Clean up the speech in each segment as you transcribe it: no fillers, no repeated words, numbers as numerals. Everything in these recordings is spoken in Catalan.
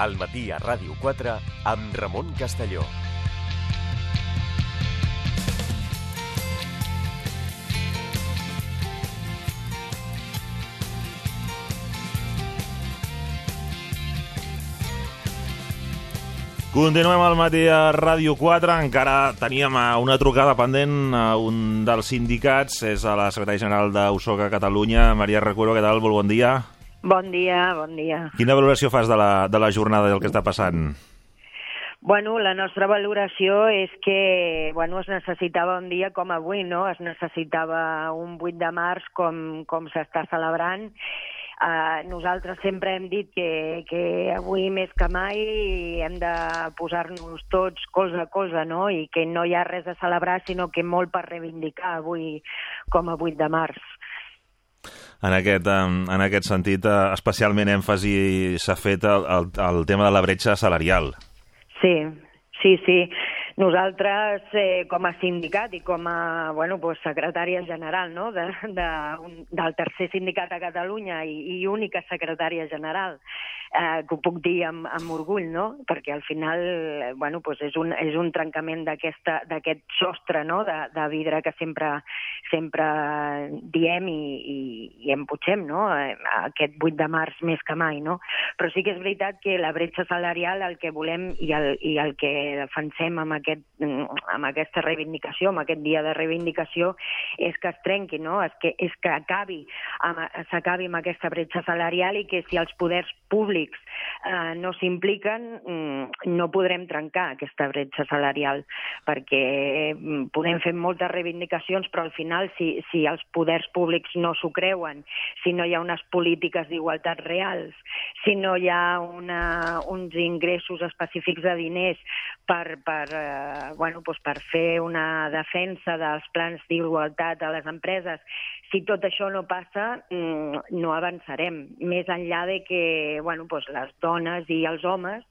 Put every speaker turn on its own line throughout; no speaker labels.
Al matí a Ràdio 4 amb Ramon Castelló.
Continuem al matí a Ràdio 4. Encara teníem una trucada pendent a un dels sindicats. És a la secretària general d'USOCA Catalunya, Maria Recuero. Què tal? Molt bon dia.
Bon dia, bon dia.
Quina valoració fas de la jornada i del que està passant?
Bueno, la nostra valoració és que es necessitava un dia com avui, no? Es necessitava un 8 de març com s'està celebrant. Nosaltres sempre hem dit que avui més que mai hem de posar-nos tots cosa a cosa, no? I que no hi ha res a celebrar, sinó que molt per reivindicar avui com a 8 de març.
En aquest sentit, especialment èmfasi s'ha fet el tema de la bretxa salarial.
Sí. Nosaltres, com a sindicat i com a secretària general, no? del tercer sindicat a Catalunya i única secretària general, que ho puc dir amb orgull, no? Perquè al final és un trencament d'aquest sostre, no? de vidre que sempre diem i emputxem, no? Aquest 8 de març més que mai, no? Però sí que és veritat que la bretxa salarial, el que volem i el que defensem amb aquesta reivindicació, amb aquest dia de reivindicació, és que es trenqui, no? És que s'acabi amb aquesta bretxa salarial i que si els poders públics no s'impliquen, no podrem trencar aquesta bretxa salarial, perquè podem fer moltes reivindicacions, però al final, si els poders públics no s'ho creuen, si no hi ha unes polítiques d'igualtat reals, si no hi ha uns ingressos específics de diners per fer una defensa dels plans d'igualtat a les empreses, si tot això no passa, no avançarem. Més enllà de que les dones i els homes,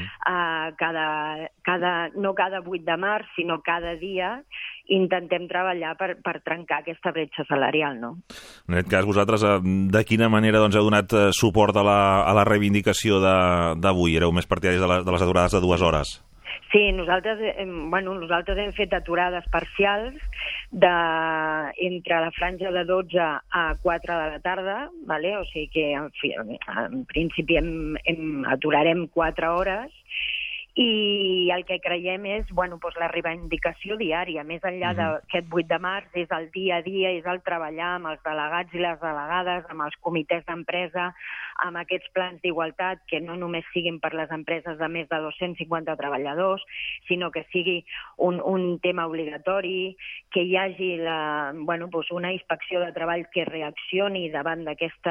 no cada 8 de març, sinó cada dia, intentem treballar per trencar aquesta bretxa salarial, no?
En aquest cas, vosaltres, de quina manera heu donat suport a la reivindicació d'avui? Éreu més partidaris de les aturades de 2 hores?
Sí, nosaltres hem fet aturades parcials entre la franja de 12 a 4 de la tarda, ¿vale? O sigui que en principi aturarem 4 hores, i el que creiem és la reivindicació diària, més enllà d'aquest 8 de març, és el dia a dia, és el treballar amb els delegats i les delegades, amb els comitès d'empresa, amb aquests plans d'igualtat, que no només siguin per les empreses de més de 250 treballadors, sinó que sigui un tema obligatori, que hi hagi una inspecció de treball que reaccioni davant d'aquests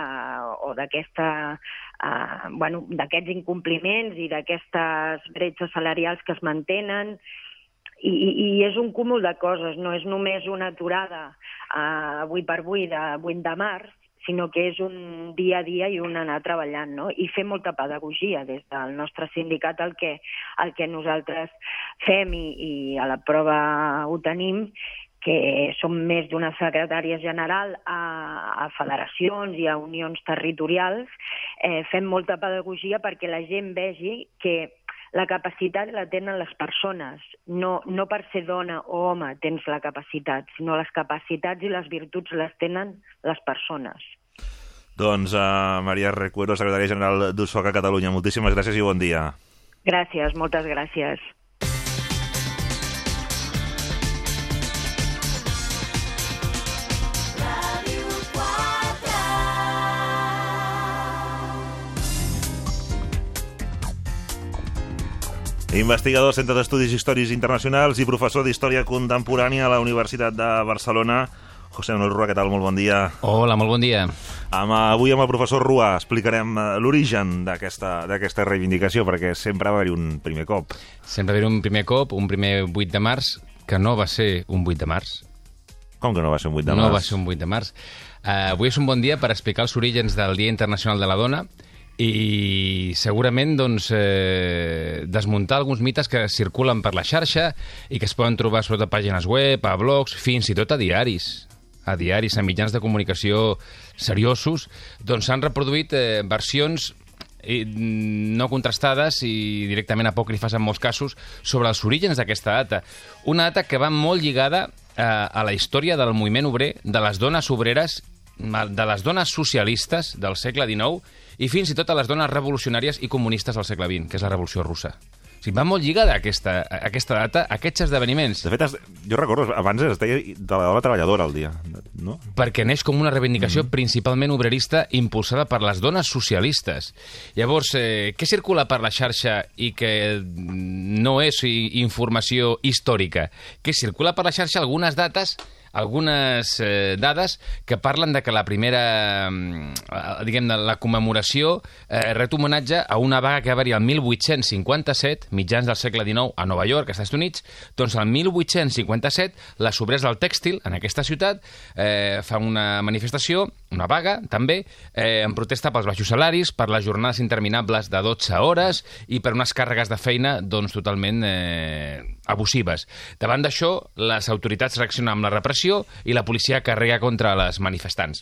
incompliments i d'aquestes bretxes salarials que es mantenen, i és un cúmul de coses, no és només una aturada avui per avui de 8 de març, sinó que és un dia a dia i un anar treballant, no? I fer molta pedagogia des del nostre sindicat, el que nosaltres fem, i a la prova ho tenim, que som més d'una secretària general a federacions i a unions territorials, fem molta pedagogia perquè la gent vegi que la capacitat la tenen les persones, no per ser dona o home tens la capacitat, sinó les capacitats i les virtuts les tenen les persones.
Doncs Maria Recuero, secretària general d'USOCA Catalunya, moltíssimes gràcies i bon dia.
Gràcies, moltes gràcies.
Investigador, Centre d'Estudis Històrics Internacionals i professor d'Història Contemporània a la Universitat de Barcelona. José Manuel Rua, què tal? Molt bon dia.
Hola, molt bon dia.
Avui amb el professor Rua explicarem l'origen d'aquesta reivindicació, perquè sempre va haver-hi un primer cop.
Sempre va haver-hi un primer cop, un primer 8 de març, que no va ser un 8 de març.
Com que no va ser un 8 de març?
No va ser un 8 de març. Avui és un bon dia per explicar els orígens del Dia Internacional de la Dona i segurament desmuntar alguns mites que circulen per la xarxa i que es poden trobar sobretot a pàgines web, a blogs, fins i tot a diaris, a mitjans de comunicació seriosos, doncs s'han reproduït versions no contrastades i directament apòcrifes en molts casos sobre els orígens d'aquesta data. Una data que va molt lligada a la història del moviment obrer, de les dones obreres, de les dones socialistes del segle XIX i fins i tot a les dones revolucionàries i comunistes del segle XX, que és la Revolució Russa. O sigui, va molt lligada aquesta data, a aquests esdeveniments.
De fet, jo recordo, abans es deia de la dona treballadora el dia, no?
Perquè neix com una reivindicació principalment obrerista impulsada per les dones socialistes. Llavors, què circula per la xarxa i que no és informació històrica? Que circula per la xarxa algunes dades que parlen de que la primera, diguem-ne, la commemoració ret homenatge a una vaga que va haver-hi el 1857, mitjans del segle XIX, a Nova York, als Estats Units. Doncs el 1857, les obreres del tèxtil, en aquesta ciutat, fan una manifestació, una vaga, també, en protesta pels baixos salaris, per les jornades interminables de 12 hores i per unes càrregues de feina, doncs, totalment abusives. Davant d'això, les autoritats reaccionen amb la repressió i la policia carrega contra les manifestants.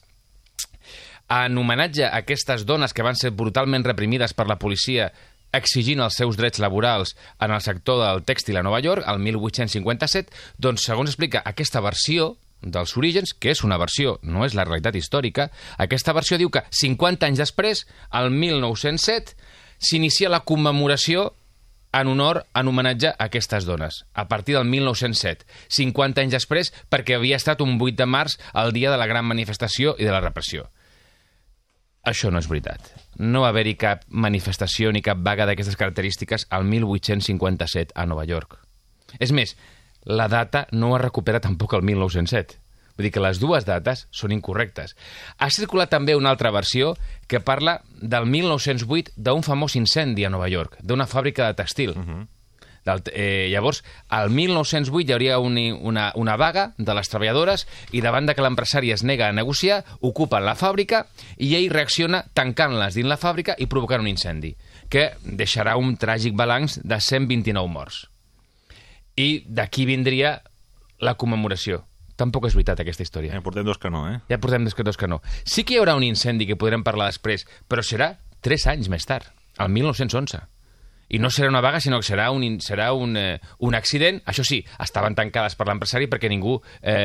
En homenatge a aquestes dones que van ser brutalment reprimides per la policia exigint els seus drets laborals en el sector del tèxtil a Nova York, el 1857, doncs, segons explica aquesta versió dels orígens, que és una versió, no és la realitat històrica, aquesta versió diu que 50 anys després, el 1907, s'inicia la commemoració en homenatge a aquestes dones, a partir del 1907, 50 anys després, perquè havia estat un 8 de març, el dia de la gran manifestació i de la repressió. Això no és veritat. No va haver-hi cap manifestació ni cap vaga d'aquestes característiques al 1857 a Nova York. És més, la data no es recupera tampoc al 1907. Vull dir que les dues dates són incorrectes. Ha circulat també una altra versió que parla del 1908 d'un famós incendi a Nova York, d'una fàbrica de tèxtil. Llavors, al 1908 hi hauria una vaga de les treballadores i davant de que l'empresari es nega a negociar, ocupen la fàbrica i ell reacciona tancant-les dins la fàbrica i provocant un incendi, que deixarà un tràgic balanç de 129 morts. I d'aquí vindria la commemoració. Tampoc és veritat aquesta història.
Ja portem dos que no,
Ja portem dos que no. Sí que hi haurà un incendi que podrem parlar després, però serà 3 anys més tard, el 1911. I no serà una vaga, sinó que serà un accident. Això sí, estaven tancades per l'empresari perquè ningú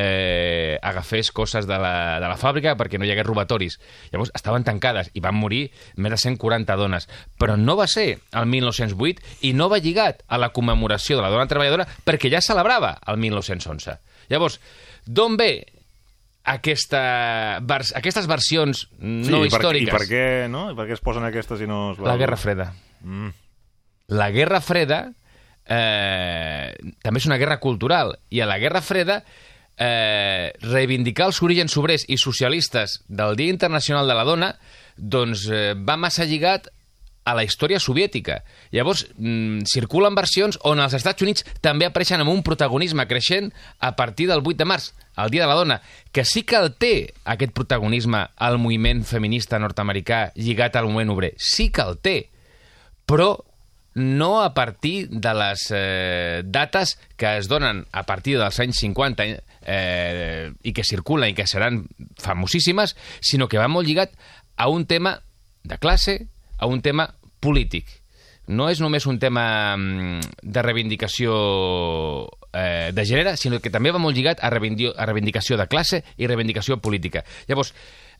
agafés coses de la fàbrica, perquè no hi hagués robatoris. Llavors, estaven tancades i van morir més de 140 dones. Però no va ser el 1908 i no va lligat a la commemoració de la dona treballadora perquè ja celebrava el 1911. Llavors, d'on ve aquestes versions no històriques?
I per què, no? I per què es posen aquestes i no es...
La Guerra Freda. La Guerra Freda també és una guerra cultural, i a la Guerra Freda reivindicar els orígens obrers i socialistes del Dia Internacional de la Dona doncs va massa lligat a la història soviètica. Llavors, circulen versions on els Estats Units també apareixen amb un protagonisme creixent a partir del 8 de març, el Dia de la Dona, que sí que el té, aquest protagonisme, al moviment feminista nord-americà lligat al moviment obrer. Sí que el té, però no a partir de les dates que es donen a partir dels anys 50 i que circulen i que seran famosíssimes, sinó que va molt lligat a un tema de classe, a un tema polític. No és només un tema de reivindicació de gènere, sinó que també va molt lligat a reivindicació de classe i reivindicació política. Llavors,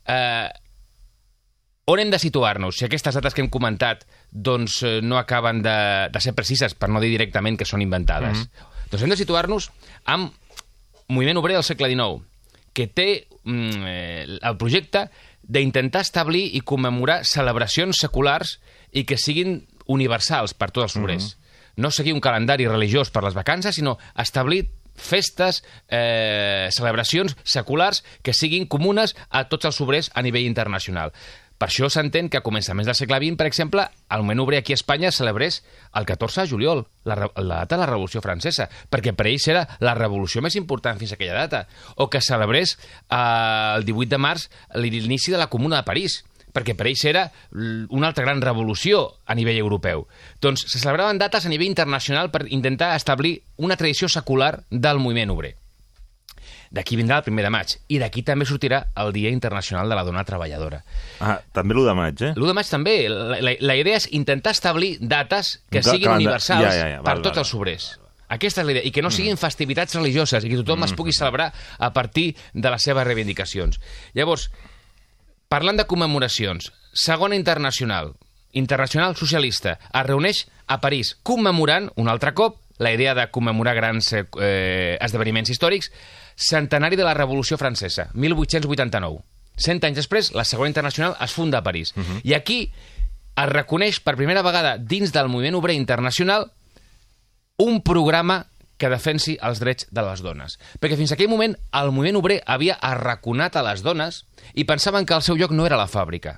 on hem de situar-nos? Si aquestes dates que hem comentat doncs, no acaben de ser precises, per no dir directament que són inventades. Doncs hem de situar-nos amb moviment obrer del segle XIX, que té el projecte d'intentar establir i commemorar celebracions seculars i que siguin universals per tots els obrers. No seguir un calendari religiós per les vacances, sinó establir festes, celebracions seculars que siguin comunes a tots els obrers a nivell internacional. Per això s'entén que a començaments del segle XX, per exemple, el moviment obrer aquí a Espanya celebrés el 14 de juliol, la data de la Revolució Francesa, perquè per ells era la revolució més important fins a aquella data, o que celebrés el 18 de març l'inici de la Comuna de París, perquè per ells era una altra gran revolució a nivell europeu. Doncs se celebraven dates a nivell internacional per intentar establir una tradició secular del moviment obrer. D'aquí vindrà el 1 de maig. I d'aquí també sortirà el Dia Internacional de la Dona Treballadora.
També l'1 de maig,
L'1 de maig també. La idea és intentar establir dates que siguin universals per tots els obrers. Aquesta és la idea. I que no siguin festivitats religioses i que tothom es pugui celebrar a partir de les seves reivindicacions. Llavors, parlant de commemoracions, segona internacional socialista, es reuneix a París commemorant un altre cop la idea de commemorar grans esdeveniments històrics, centenari de la Revolució Francesa, 1889. 100 anys després, la segona internacional es funda a París. I aquí es reconeix per primera vegada dins del moviment obrer internacional un programa que defensi els drets de les dones. Perquè fins aquell moment el moviment obrer havia arraconat a les dones i pensaven que el seu lloc no era la fàbrica.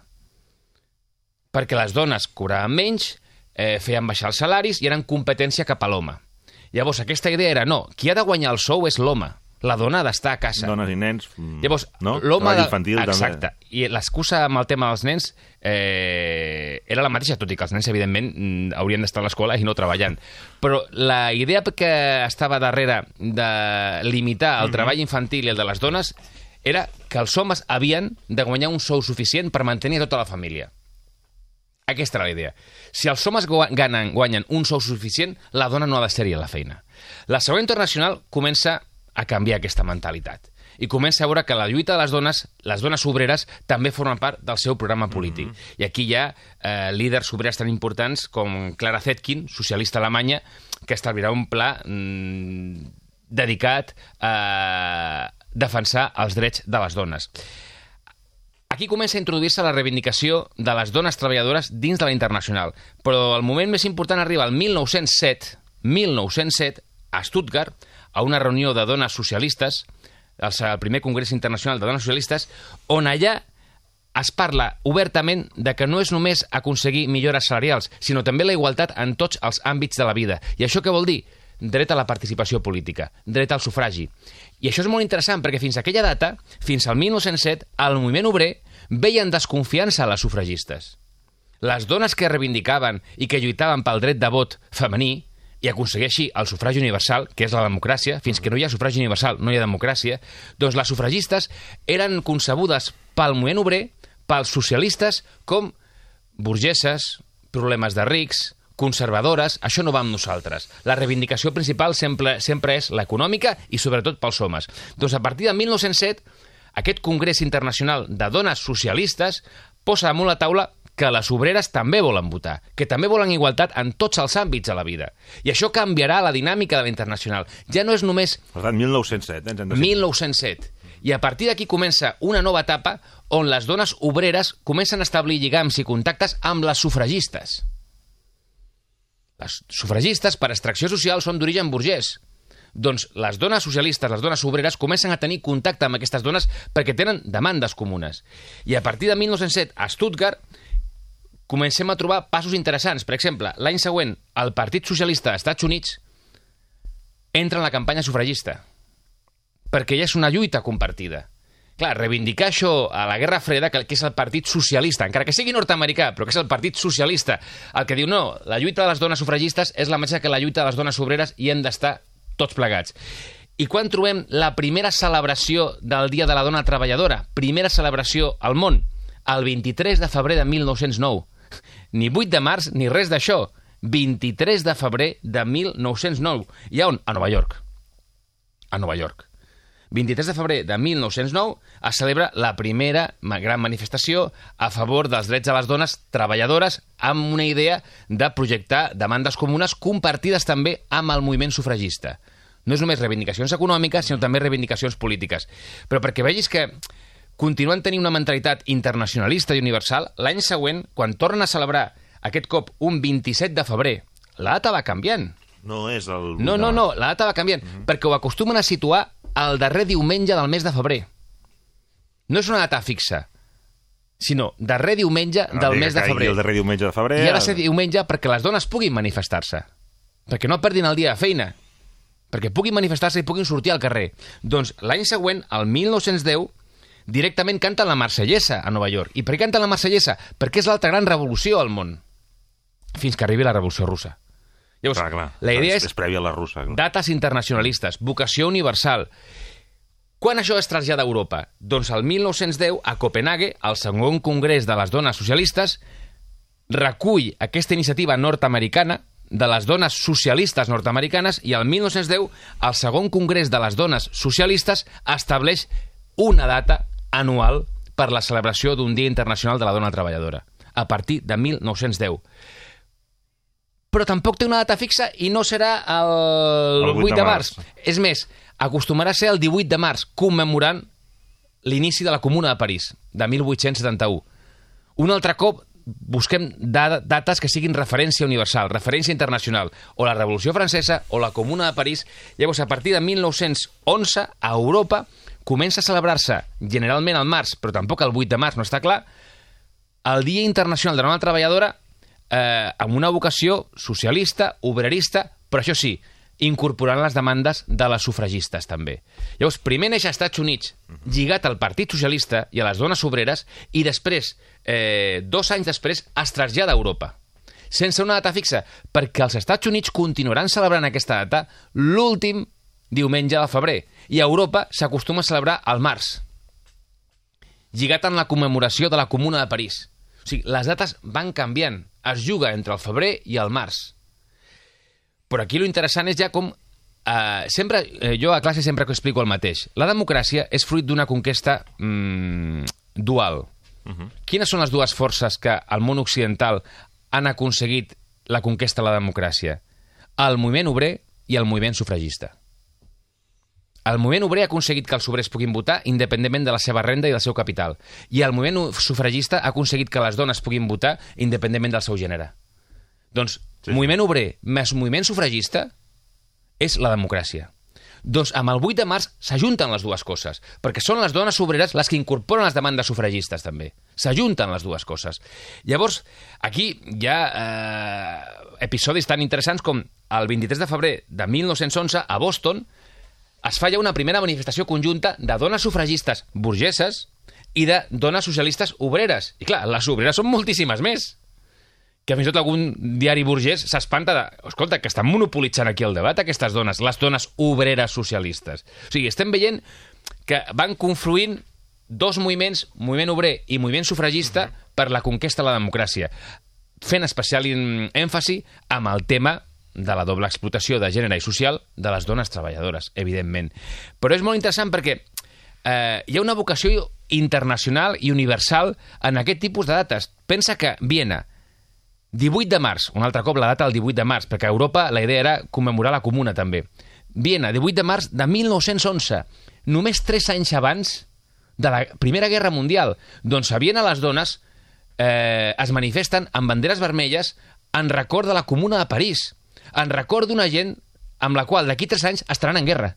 Perquè les dones cobraven menys, feien baixar els salaris i eren competència cap a l'home. Llavors aquesta idea era, no, qui ha de guanyar el sou és l'home. La dona ha d'estar a casa.
Dones i nens,
llavors,
no?
Treball
infantil,
exacte.
també.
I l'excusa amb el tema dels nens era la mateixa, tot i que els nens, evidentment, haurien d'estar a l'escola i no treballant. Però la idea que estava darrere de limitar el treball infantil i el de les dones era que els homes havien de guanyar un sou suficient per mantenir tota la família. Aquesta era la idea. Si els homes guanyen un sou suficient, la dona no ha de ser-hi a la feina. La segona internacional comença a canviar aquesta mentalitat. I comença a veure que la lluita de les dones obreres, també formen part del seu programa polític. I aquí hi ha líders obreres tan importants com Clara Zetkin, socialista alemanya, que establirà un pla dedicat a defensar els drets de les dones. Aquí comença a introduir-se la reivindicació de les dones treballadores dins de la internacional. Però el moment més important arriba al 1907, a Stuttgart, a una reunió de dones socialistes, el primer Congrés Internacional de Dones Socialistes, on allà es parla obertament de que no és només aconseguir millores salarials, sinó també la igualtat en tots els àmbits de la vida. I això què vol dir? Dret a la participació política, dret al sufragi. I això és molt interessant perquè fins a aquella data, fins al 1907, el moviment obrer veia en desconfiança a les sufragistes. Les dones que reivindicaven i que lluitaven pel dret de vot femení i aconseguir així el sufragi universal, que és la democràcia, fins que no hi ha sufragi universal no hi ha democràcia, doncs les sufragistes eren concebudes pel moviment obrer, pels socialistes, com burgeses, problemes de rics, conservadores. Això no va amb nosaltres. La reivindicació principal sempre és l'econòmica i sobretot pels homes. Doncs a partir de 1907, aquest Congrés Internacional de Dones Socialistes posa damunt la taula que les obreres també volen votar, que també volen igualtat en tots els àmbits de la vida. I això canviarà la dinàmica de la internacional. Ja no és només...
Per tant, 1907,
1907. I a partir d'aquí comença una nova etapa on les dones obreres comencen a establir lligams i contactes amb les sufragistes. Les sufragistes, per extracció social, són d'origen burgès. Doncs les dones socialistes, les dones obreres, comencen a tenir contacte amb aquestes dones perquè tenen demandes comunes. I a partir de 1907, a Stuttgart, comencem a trobar passos interessants. Per exemple, l'any següent, el Partit Socialista dels Estats Units entra en la campanya sufragista, perquè ja és una lluita compartida. Clar, reivindicar això a la Guerra Freda, que és el Partit Socialista, encara que sigui nord-americà, però que és el Partit Socialista, el que diu, no, la lluita de les dones sufragistes és la mateixa que la lluita de les dones obreres i hem d'estar tots plegats. I quan trobem la primera celebració del Dia de la Dona Treballadora, primera celebració al món, el 23 de febrer de 1909. Ni 8 de març ni res d'això. 23 de febrer de 1909. I a on? A Nova York. A Nova York. 23 de febrer de 1909 es celebra la primera gran manifestació a favor dels drets de les dones treballadores amb una idea de projectar demandes comunes compartides també amb el moviment sufragista. No és només reivindicacions econòmiques, sinó també reivindicacions polítiques. Però perquè vegis que continuen tenint una mentalitat internacionalista i universal, l'any següent, quan tornen a celebrar aquest cop un 27 de febrer, la data va canviant.
No és el...
No, la data va canviant, perquè ho acostumen a situar el darrer diumenge del mes de febrer. No és una data fixa, sinó darrer diumenge del mes de febrer.
El darrer diumenge de febrer...
I ha de ser diumenge perquè les dones puguin manifestar-se, perquè no perdin el dia de feina, perquè puguin manifestar-se i puguin sortir al carrer. Doncs l'any següent, el 1910, directament canten la Marsellesa a Nova York. I per què canten la Marsellesa? Perquè és l'altra gran revolució al món, fins que arribi la Revolució Russa. Llavors,
clar.
La idea
és prèvia a la russa.
Dates internacionalistes, vocació universal. Quan això es trasllada a Europa? Doncs el 1910, a Copenhague, el segon congrés de les dones socialistes recull aquesta iniciativa nord-americana de les dones socialistes nord-americanes i el 1910 el segon congrés de les dones socialistes estableix una data anual per la celebració d'un Dia Internacional de la Dona Treballadora, a partir de 1910. Però tampoc té una data fixa i no serà el 8 de març. És més, acostumarà a ser el 18 de març, commemorant l'inici de la Comuna de París, de 1871. Un altre cop busquem dates que siguin referència universal, referència internacional, o la Revolució Francesa o la Comuna de París. Llavors, a partir de 1911, a Europa comença a celebrar-se, generalment al març, però tampoc el 8 de març, no està clar, el Dia Internacional de la Dona Treballadora amb una vocació socialista, obrerista, però això sí, incorporant les demandes de les sufragistes també. Llavors, primer neix als Estats Units, lligat al Partit Socialista i a les dones obreres, i després, 2 anys després, es trasllada a Europa, sense una data fixa, perquè els Estats Units continuaran celebrant aquesta data l'últim diumenge de febrer, i a Europa s'acostuma a celebrar al març, lligat en la commemoració de la Comuna de París. O sigui, les dates van canviant, es juga entre el febrer i el març. Però aquí lo interessant és ja com... jo a classe sempre explico el mateix. La democràcia és fruit d'una conquesta dual. Quines són les dues forces que al món occidental han aconseguit la conquesta de la democràcia? El moviment obrer i el moviment sufragista. El moviment obrer ha aconseguit que els obrers puguin votar independentment de la seva renda i del seu capital. I el moviment sufragista ha aconseguit que les dones puguin votar independentment del seu gènere. Doncs moviment obrer més moviment sufragista és la democràcia. Doncs amb el 8 de març s'ajunten les dues coses, perquè són les dones obreres les que incorporen les demandes sufragistes també. S'ajunten les dues coses. Llavors, aquí hi ha episodis tan interessants com el 23 de febrer de 1911 a Boston es fa ja una primera manifestació conjunta de dones sufragistes burgeses i de dones socialistes obreres. I clar, les obreres són moltíssimes més. Que fins i tot algun diari burgès s'espanta de... Escolta, que estan monopolitzant aquí el debat, aquestes dones, les dones obreres socialistes. O sigui, estem veient que van confluint dos moviments, moviment obrer i moviment sufragista, per la conquesta de la democràcia, fent especial èmfasi amb el tema de la doble explotació de gènere i social de les dones treballadores, evidentment. Però és molt interessant perquè hi ha una vocació internacional i universal en aquest tipus de dates. Pensa que Viena, 18 de març, un altre cop la data del 18 de març, perquè a Europa la idea era commemorar la Comuna també. Viena, 18 de març de 1911, només 3 anys abans de la Primera Guerra Mundial. Doncs a Viena les dones es manifesten amb banderes vermelles en record de la Comuna de París, en record d'una gent amb la qual d'aquí 3 anys estaran en guerra.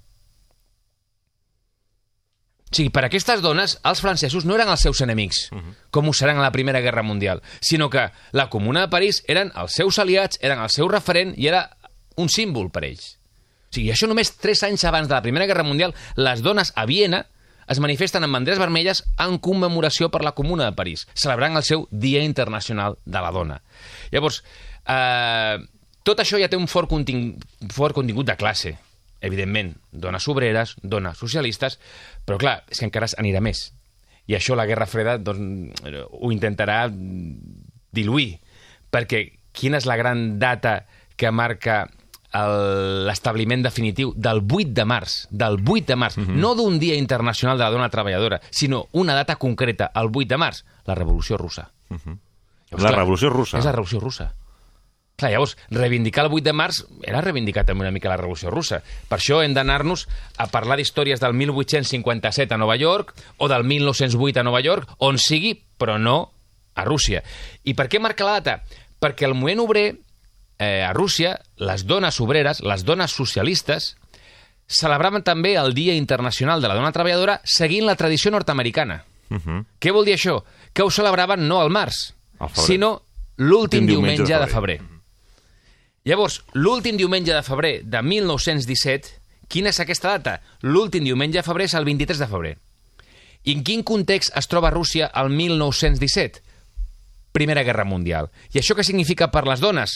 O sigui, per aquestes dones, els francesos no eren els seus enemics, com ho seran a la Primera Guerra Mundial, sinó que la Comuna de París eren els seus aliats, eren el seu referent i era un símbol per ells. O sigui, això només 3 anys abans de la Primera Guerra Mundial, les dones a Viena es manifesten amb banderes vermelles en commemoració per la Comuna de París, celebrant el seu Dia Internacional de la Dona. Llavors, tot això ja té un fort contingut de classe. Evidentment, dones obreres, dones socialistes, però clar, és que encara anirà més. I això la Guerra Freda doncs, ho intentarà diluir, perquè quina és la gran data que marca l'establiment definitiu del 8 de març, no d'un Dia Internacional de la Dona Treballadora, sinó una data concreta, el 8 de març, la Revolució Russa.
La Revolució Russa?
És la Revolució Russa. Clar, llavors, reivindicar el 8 de març era reivindicar també una mica la Revolució Russa. Per això hem d'anar-nos a parlar d'històries del 1857 a Nova York o del 1908 a Nova York, on sigui, però no a Rússia. I per què marca la data? Perquè el moviment obrer a Rússia, les dones obreres, les dones socialistes, celebraven també el Dia Internacional de la Dona Treballadora seguint la tradició nord-americana. Què vol dir això? Que ho celebraven no al març, sinó l'últim diumenge de febrer. Llavors, l'últim diumenge de febrer de 1917, quina és aquesta data? L'últim diumenge de febrer és el 23 de febrer. I en quin context es troba Rússia el 1917? Primera Guerra Mundial. I això què significa per les dones?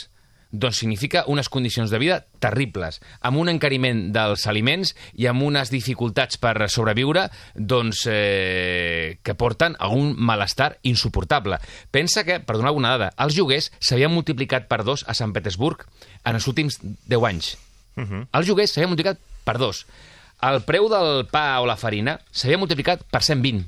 Doncs significa unes condicions de vida terribles, amb un encariment dels aliments i amb unes dificultats per sobreviure doncs, que porten a un malestar insuportable. Pensa que, per donar alguna dada, els lloguers s'havien multiplicat per 2 a Sant Petersburg en els últims 10 anys. Els lloguers s'havien multiplicat per 2. El preu del pa o la farina s'havia multiplicat per 120.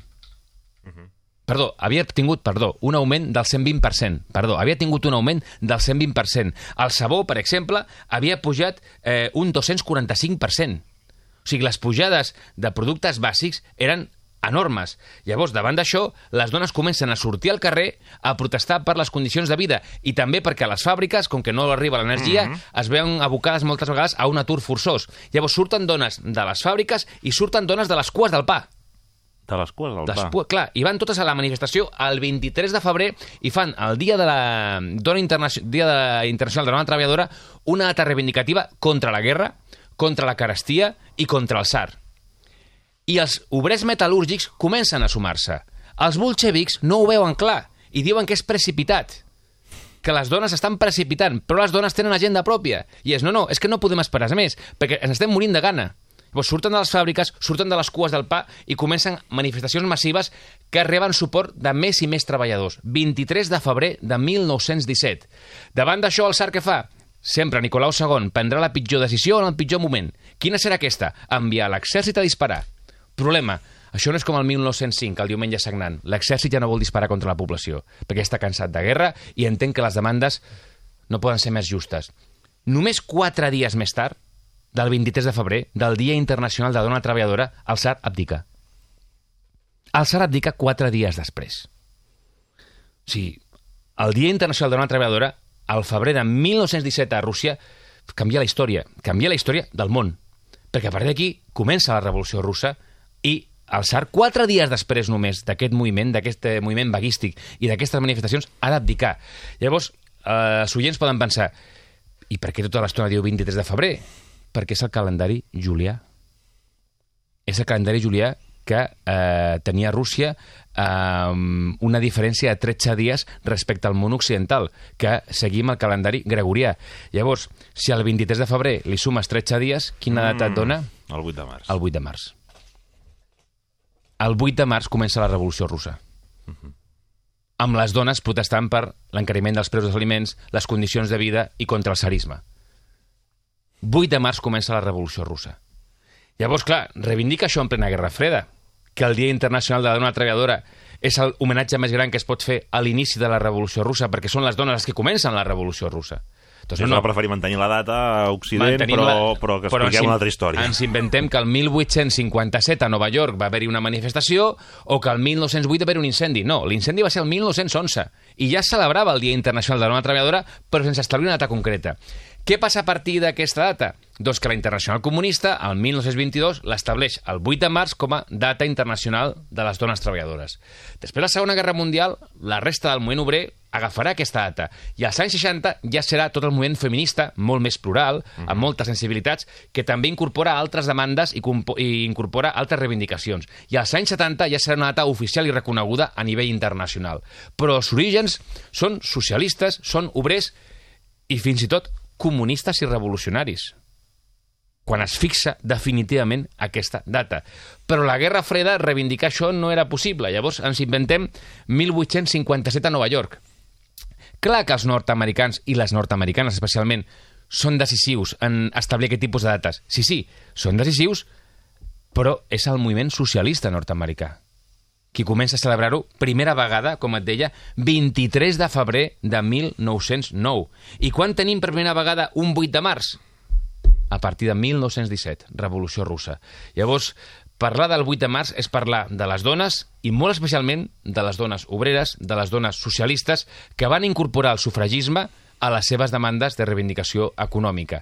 Havia tingut un augment del 120%. Havia tingut un augment del 120%. El sabó, per exemple, havia pujat un 245%. O sigui, les pujades de productes bàsics eren enormes. Llavors, davant d'això, les dones comencen a sortir al carrer a protestar per les condicions de vida i també perquè a les fàbriques, com que no arriba l'energia, es veuen abocades moltes vegades a un atur forçós. Llavors, surten dones de les fàbriques i surten dones de les cues del pa.
De les cues del pa.
Clar, i van totes a la manifestació el 23 de febrer i fan el Dia de la Dona Internacional de la Dona Treballadora una data reivindicativa contra la guerra, contra la carestia i contra el tsar. I els obrers metal·lúrgics comencen a sumar-se. Els bolxevics no ho veuen clar i diuen que és precipitat, que les dones estan precipitant, però les dones tenen agenda pròpia. I és, no, és que no podem esperar més, perquè ens estem morint de gana. Llavors surten de les fàbriques, surten de les cues del pa i comencen manifestacions massives que reben suport de més i més treballadors. 23 de febrer de 1917. Davant d'això, el tsar què fa? Sempre Nicolau II prendrà la pitjor decisió en el pitjor moment. Quina serà aquesta? Enviar l'exèrcit a disparar. Problema, això no és com el 1905, el diumenge sagnant. L'exèrcit ja no vol disparar contra la població, perquè està cansat de guerra i entén que les demandes no poden ser més justes. Només 4 dies més tard, del 23 de febrer, del Dia Internacional de la Dona Treballadora, el tsar abdica. El tsar abdica 4 dies després. O sigui, el Dia Internacional de la Dona Treballadora, al febrer de 1917 a Rússia, canvia la història del món. Perquè a partir d'aquí comença la Revolució Russa i el tsar, 4 dies després només d'aquest moviment vaguístic i d'aquestes manifestacions, ha d'abdicar. Llavors, els oients poden pensar, i per què tota l'estona diu 23 de febrer? Perquè és el calendari julià. És el calendari julià que tenia Rússia una diferència de 13 dies respecte al món occidental, que seguim el calendari gregorià. Llavors, si al 23 de febrer li sumes 13 dies, quina data et dona?
El 8 de març.
El 8 de març. El 8 de març comença la Revolució Russa. Amb les dones protestant per l'encariment dels preus dels aliments, les condicions de vida i contra el tsarisme. 8 de març comença la Revolució Russa. Llavors, clar, reivindica això en plena Guerra Freda, que el Dia Internacional de la Dona Treballadora és l'homenatge més gran que es pot fer a l'inici de la Revolució Russa, perquè són les dones les que comencen la Revolució Russa.
Doncs no, preferir mantenir la data a Occident, però que expliquem una altra història.
Ens inventem que el 1857 a Nova York va haver-hi una manifestació o que el 1908 va haver un incendi. No, l'incendi va ser el 1911 i ja es celebrava el Dia Internacional de la Dona Treballadora, però sense establir una data concreta. Què passa a partir d'aquesta data? Doncs que la Internacional Comunista, el 1922, l'estableix el 8 de març com a data internacional de les dones treballadores. Després de la Segona Guerra Mundial, la resta del moviment obrer agafarà aquesta data. I als anys 60 ja serà tot el moviment feminista, molt més plural, amb moltes sensibilitats, que també incorpora altres demandes i incorpora altres reivindicacions. I als anys 70 ja serà una data oficial i reconeguda a nivell internacional. Però els orígens són socialistes, són obrers i fins i tot comunistes i revolucionaris, quan es fixa definitivament aquesta data. Però la Guerra Freda reivindicar això no era possible. Llavors ens inventem 1857 a Nova York. Clar que els nord-americans i les nord-americanes especialment són decisius en establir aquest tipus de dates. Sí, són decisius, però és el moviment socialista nord-americà qui comença a celebrar-ho primera vegada, com et deia, 23 de febrer de 1909. I quan tenim per primera vegada un 8 de març? A partir de 1917, Revolució Russa. Llavors, parlar del 8 de març és parlar de les dones, i molt especialment de les dones obreres, de les dones socialistes, que van incorporar el sufragisme a les seves demandes de reivindicació econòmica.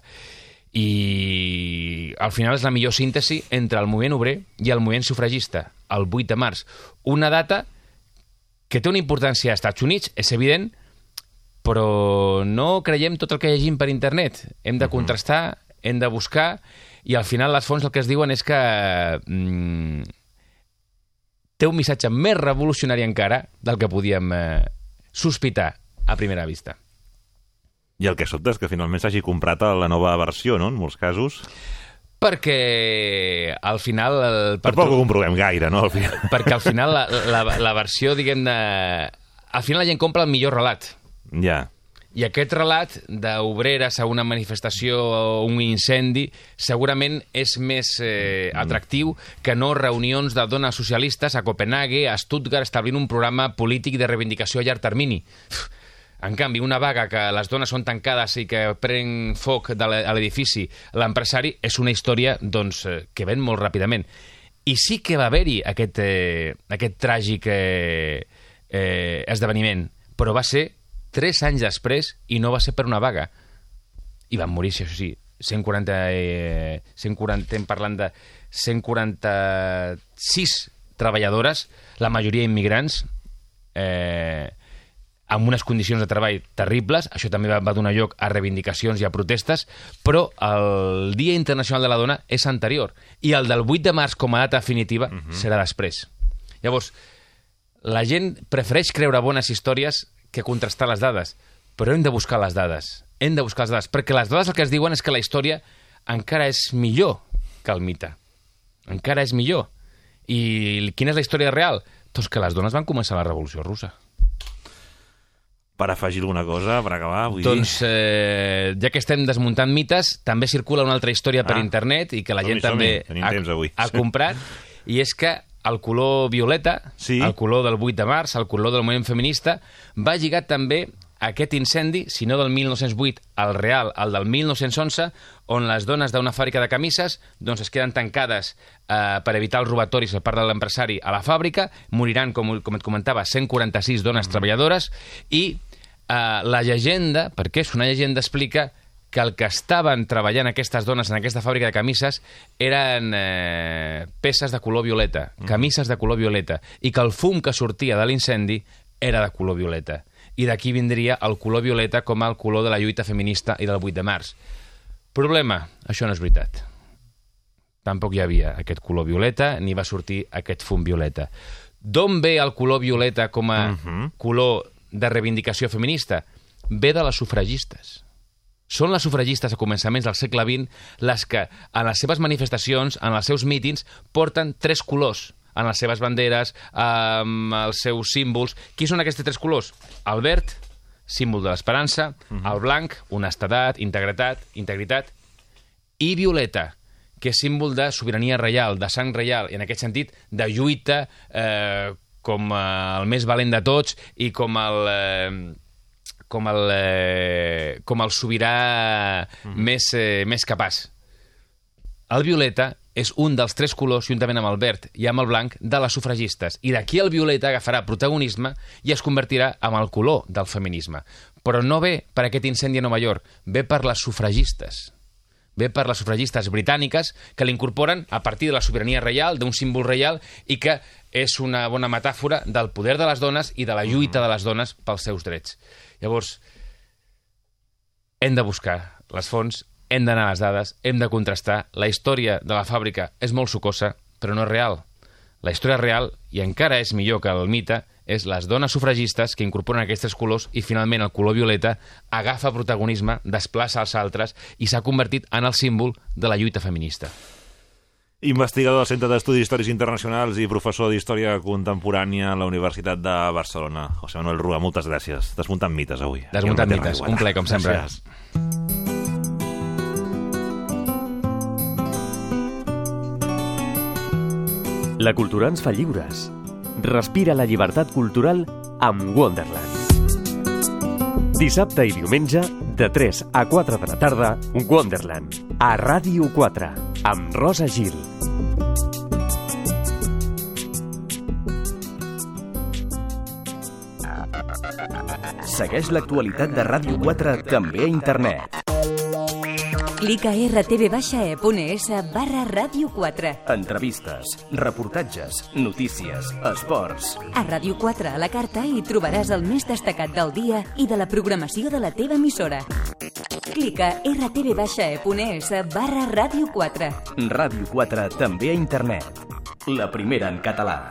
I al final és la millor síntesi entre el moviment obrer i el moviment sufragista, el 8 de març. Una data que té una importància als Estats Units, és evident, però no creiem tot el que llegim per internet. Hem de contrastar, hem de buscar, i al final les fonts el que es diuen és que té un missatge més revolucionari encara del que podíem sospitar a primera vista.
I el que sobta és que finalment s'hagi comprat la nova versió, no?, en molts casos.
Perquè al final...
Tampoc ho comprovem gaire, no?, al final.
Perquè al final la versió, diguem-ne... Al final la gent compra el millor relat.
Ja.
I aquest relat d'obreres a una manifestació o un incendi segurament és més atractiu que no reunions de dones socialistes a Copenhague, a Stuttgart, establint un programa polític de reivindicació a llarg termini. En canvi, una vaga que les dones són tancades i que pren foc a l'edifici l'empresari és una història doncs, que ven molt ràpidament. I sí que va haver-hi aquest tràgic esdeveniment, però va ser 3 anys després i no va ser per una vaga. I van morir, això sí, 140, estem parlant de 146 treballadores, la majoria immigrants, amb unes condicions de treball terribles. Això també va donar lloc a reivindicacions i a protestes, però el Dia Internacional de la Dona és anterior, i el del 8 de març com a data definitiva serà després. Llavors, la gent prefereix creure bones històries que contrastar les dades, però hem de buscar les dades. Hem de buscar les dades, perquè les dades el que es diuen és que la història encara és millor que el mite. Encara és millor. I quina és la història real? Doncs que les dones van començar la Revolució Russa.
Per afegir alguna cosa, per acabar, vull
doncs, ja que estem desmuntant mites, també circula una altra història per internet i que la gent també ha comprat, i és que el color violeta, el color del 8 de març, el color del moviment feminista, va lligat també a aquest incendi, si no del 1908, el real, el del 1911, on les dones d'una fàbrica de camises doncs, es queden tancades per evitar els robatoris per part de l'empresari a la fàbrica, moriran, com et comentava, 146 dones treballadores, i la llegenda, perquè és una llegenda, explica que el que estaven treballant aquestes dones en aquesta fàbrica de camises eren peces de color violeta, camises de color violeta, i que el fum que sortia de l'incendi era de color violeta. I d'aquí vindria el color violeta com el color de la lluita feminista i del 8 de març. Problema, això no és veritat. Tampoc hi havia aquest color violeta, ni va sortir aquest fum violeta. D'on ve el color violeta com a color de reivindicació feminista? Ve de les sufragistes. Són les sufragistes a començaments del segle XX les que, en les seves manifestacions, en els seus mítings, porten 3 colors en les seves banderes, amb els seus símbols. Qui són aquests 3 colors? El verd, símbol de l'esperança, el blanc, honestedat, integritat, i violeta, que és símbol de sobirania reial, de sang reial, i en aquest sentit de lluita com el més valent de tots i com el sobirà més capaç. El violeta és un dels 3 colors, juntament amb el verd i amb el blanc, de les sufragistes. I d'aquí el violeta agafarà protagonisme i es convertirà en el color del feminisme. Però no ve per aquest incendi a Nova York, ve per les sufragistes. Ve per les sufragistes britàniques que l'incorporen a partir de la sobirania reial, d'un símbol reial, i que és una bona metàfora del poder de les dones i de la lluita de les dones pels seus drets. Llavors, hem de buscar les fonts, hem d'anar a les dades, hem de contrastar. La història de la fàbrica és molt sucosa, però no és real. La història real, i encara és millor que el mite, és les dones sufragistes que incorporen aquests 3 colors i finalment el color violeta agafa protagonisme, desplaça els altres i s'ha convertit en el símbol de la lluita feminista.
Investigador del Centre d'Estudis Històrics Internacionals i professor d'Història Contemporània a la Universitat de Barcelona. José Manuel Rua, moltes gràcies. Desmuntant mites avui.
Desmuntant mites, un plaer com sempre.
Gràcies.
La cultura ens fa lliures. Respira la llibertat cultural amb Wonderland. Dissabte i diumenge, de 3 a 4 de la tarda, Wonderland, a Ràdio 4, amb Rosa Gil.
Segueix l'actualitat de Ràdio 4 també a internet.
Clica rtv-e.es/Ràdio 4.
Entrevistes, reportatges, notícies, esports.
A Ràdio 4 a la carta hi trobaràs el més destacat del dia i de la programació de la teva emissora. Clica rtv-e.es/Ràdio 4.
Ràdio 4 també a internet. La primera en català.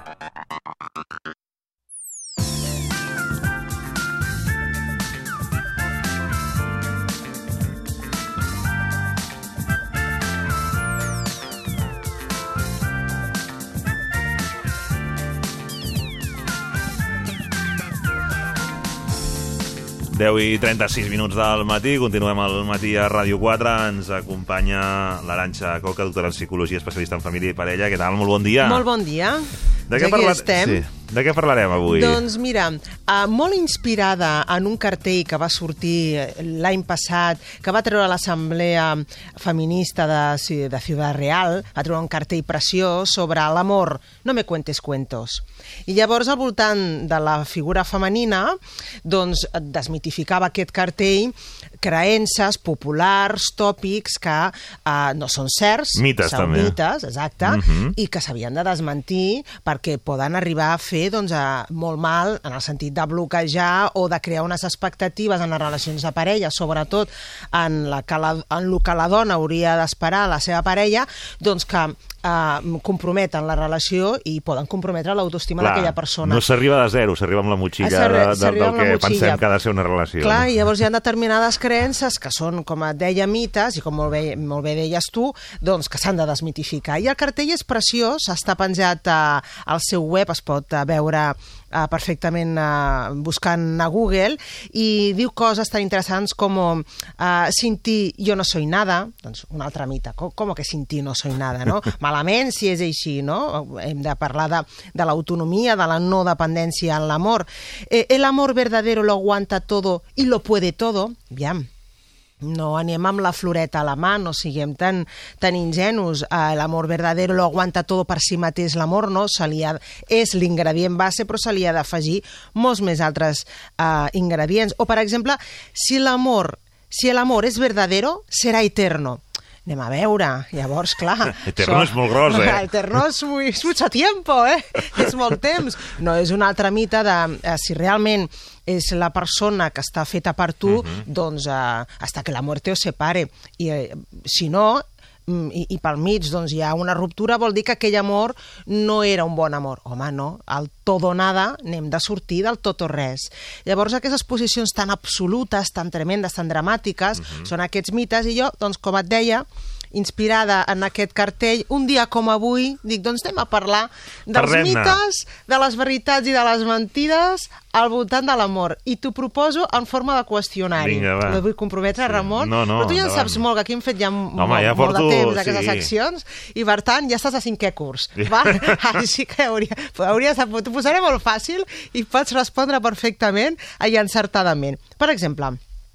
10:36 del matí, continuem al matí a Ràdio 4, ens acompanya l'Arantxa Coca, doctora en Psicologia, especialista en família i parella. Què tal? Molt bon dia.
Molt bon dia.
Aquí estem. Sí. De què parlarem avui?
Doncs mira, molt inspirada en un cartell que va sortir l'any passat, que va treure l'Assemblea Feminista de Ciudad Real, va treure un cartell preciós sobre l'amor, no me cuentes cuentos. I llavors, al voltant de la figura femenina, doncs desmitificava aquest cartell creences populars, tòpics que no són certs,
mites,
són
també.
Mites, exacte, i que s'havien de desmentir perquè poden arribar a fer molt mal en el sentit de bloquejar o de crear unes expectatives en les relacions de parella, sobretot en el que la dona hauria d'esperar a la seva parella, doncs que comprometen la relació i poden comprometre l'autoestima d'aquella persona.
No s'arriba de zero, s'arriba amb la motxilla del que pensem que ha de ser una relació.
Clar, i llavors hi ha determinades creences que són, com et deia, mites, i com molt bé deies tu, doncs que s'han de desmitificar. I el cartell és preciós, està penjat al seu web, es pot veure perfectament buscant a Google, i diu coses tan interessants com sin ti yo no soy nada, doncs un altre mite, com que sin ti no soy nada, no? Malament si és així, no? Hem de parlar de l'autonomia, de la no dependència en l'amor. El amor verdadero lo aguanta todo y lo puede todo. Aviam, no anem amb la floreta a la mà, no siguem tan ingenus. L'amor verdadero lo aguanta todo per si mateix l'amor, no? És l'ingredient base, però se li ha d'afegir molts més altres ingredients. O, per exemple, si l'amor és verdadero, serà eterno. Anem a veure, llavors, clar...
Eterno és molt gros,
Eterno és mucho tiempo, és molt temps. No, és un altre mite de si realment és la persona que està feta per tu, doncs hasta que la muerte os separe. I si no, i pel mig doncs, hi ha una ruptura, vol dir que aquell amor no era un bon amor. Home, no, el tot o nada n'hem de sortir del tot o res. Llavors, aquestes posicions tan absolutes, tan tremendes, tan dramàtiques, són aquests mites, i jo, doncs, com et deia, inspirada en aquest cartell, un dia com avui, dic, doncs anem a parlar dels mites, de les veritats i de les mentides al voltant de l'amor. I t'ho proposo en forma de qüestionari.
Vinga, va.
No vull comprometre, Ramon,
no,
però tu ja en saps molt, que aquí hem fet ja molt de temps aquestes seccions, i per tant ja estàs a 5è curs. Així que hauries de... T'ho posaré molt fàcil i pots respondre perfectament i encertadament. Per exemple,